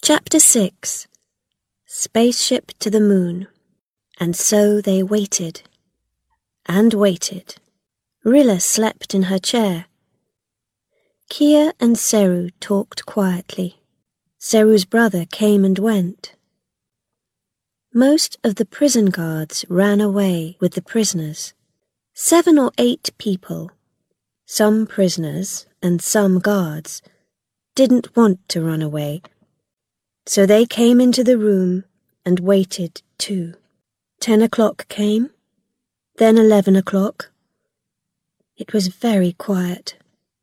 Chapter 6 Spaceship to the Moon. And so they waited. And waited. Rilla slept in her chair. Kia and Seru talked quietly. Seru's brother came and went. Most of the prison guards ran away with the prisoners. 7 or 8 people, some prisoners and some guards, didn't want to run away. So they came into the room and waited too. 10 o'clock came, then 11 o'clock. It was very quiet.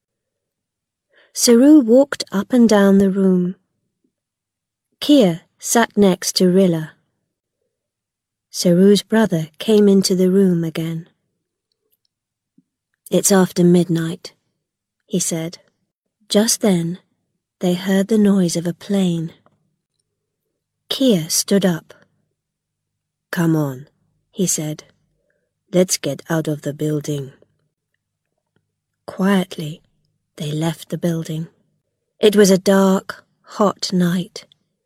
Seru walked up and down the room. Kia sat next to Rilla. Seru's brother came into the room again. "It's after midnight," he said. Just then, they heard the noise of a plane. Kia stood up. "Come on," he said. "Let's get out of the building." Quietly, they left the building. It was a dark, hot night.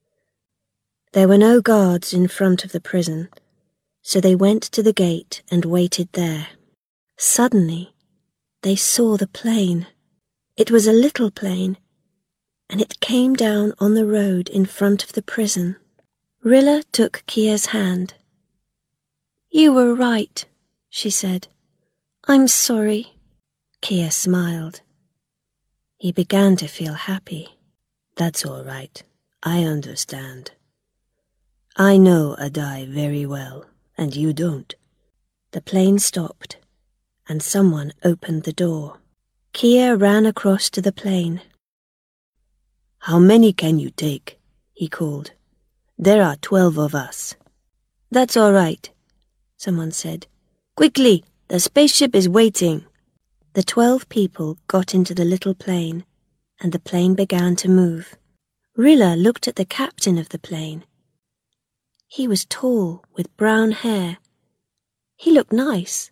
There were no guards in front of the prison, so they went to the gate and waited there. Suddenly, they saw the plane. It was a little plane, and it came down on the road in front of the prison. Rilla took Kia's hand. "You were right," she said. "I'm sorry." Kia smiled. He began to feel happy. "That's all right. I understand. I know Adai very well, and you don't." The plane stopped, and someone opened the door. Kia ran across to the plane. "How many can you take?" he called. "There are 12 of us." "That's all right," someone said. "Quickly, the spaceship is waiting." The 12 people got into the little plane, and the plane began to move. Rilla looked at the captain of the plane. He was tall, with brown hair. He looked nice.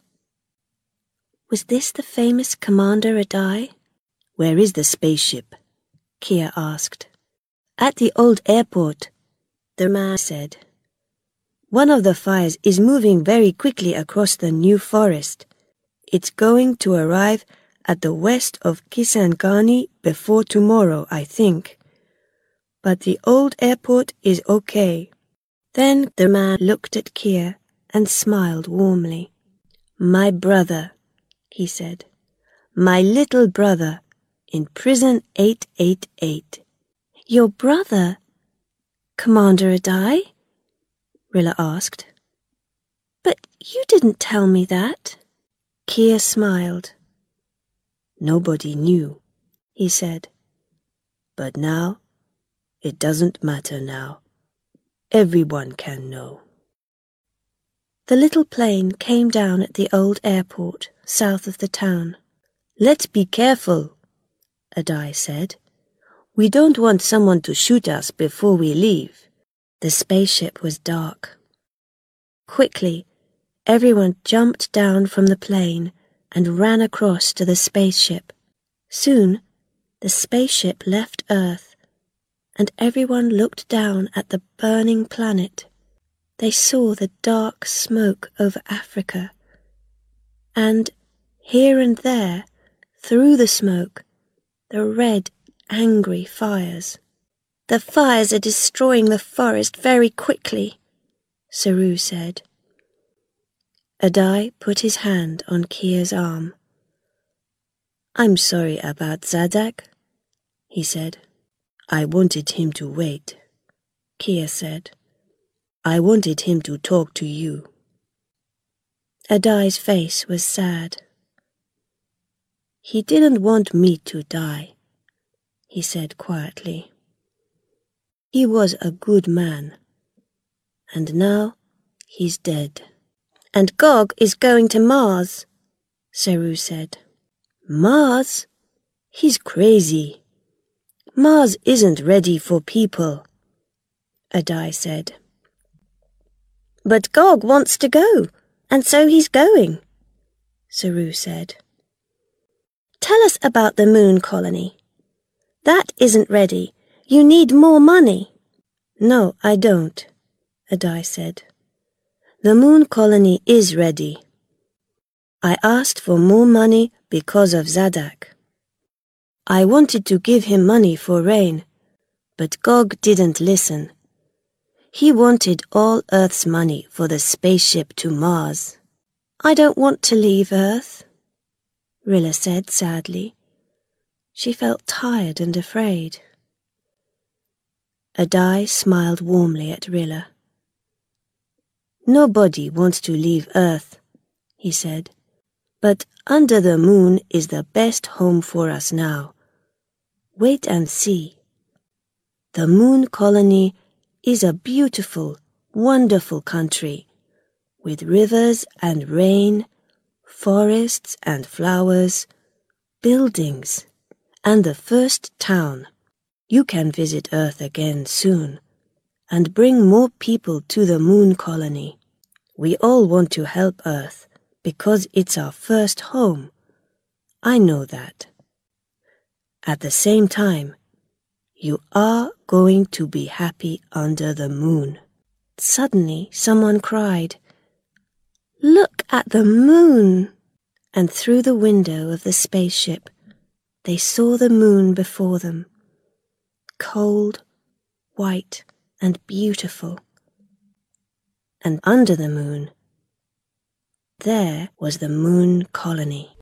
Was this the famous Commander Adai? "Where is the spaceship?" Kia asked. "At the old airport," the man said. "One of the fires is moving very quickly across the New Forest. It's going to arrive at the west of Kisangani before tomorrow, I think. But the old airport is okay." Then the man looked at Kia and smiled warmly. "My brother," he said. "My little brother in prison 888. "Your brother? Commander Adai?" Rilla asked. "But you didn't tell me that." Kia smiled. "Nobody knew," he said. "But now, it doesn't matter now. Everyone can know." The little plane came down at the old airport south of the town. "Let's be careful," Adai said. "We don't want someone to shoot us before we leave." The spaceship was dark. Quickly, everyone jumped down from the plane and ran across to the spaceship. Soon, the spaceship left Earth, and everyone looked down at the burning planet. They saw the dark smoke over Africa, and here and there, through the smoke, the red, angry fires. "The fires are destroying the forest very quickly," Seru said. Adai put his hand on Kia's arm. "I'm sorry about Zadak," he said. "I wanted him to wait," Kia said. "I wanted him to talk to you." Adai's face was sad. "He didn't want me to die," he said quietly. "He was a good man, and now he's dead." "And Gog is going to Mars," Seru said. "Mars? He's crazy. Mars isn't ready for people," Adai said. "But Gog wants to go, and so he's going," Seru said. "Tell us about the moon colony. That isn't ready. You need more money." No, I don't, Adai said. The moon colony is ready. I asked for more money because of Zadak. I wanted to give him money for rain, but Gog didn't listen. He wanted all Earth's money for the spaceship to Mars. I don't want to leave Earth, Rilla said sadly. She felt tired and afraid. Adai smiled warmly at Rilla. Nobody wants to leave Earth, he said, but under the moon is the best home for us now. Wait and see. The moon colony is a beautiful, wonderful country, with rivers and rain, forests and flowers, buildings, and the first town. You can visit Earth again soon, and bring more people to the moon colony. We all want to help Earth, because it's our first home. I know that. At the same time, you are going to be happy under the moon. Suddenly, someone cried, "Look at the moon!" And through the window of the spaceship, they saw the moon before them, cold, white, and beautiful. And under the moon, there was the moon colony.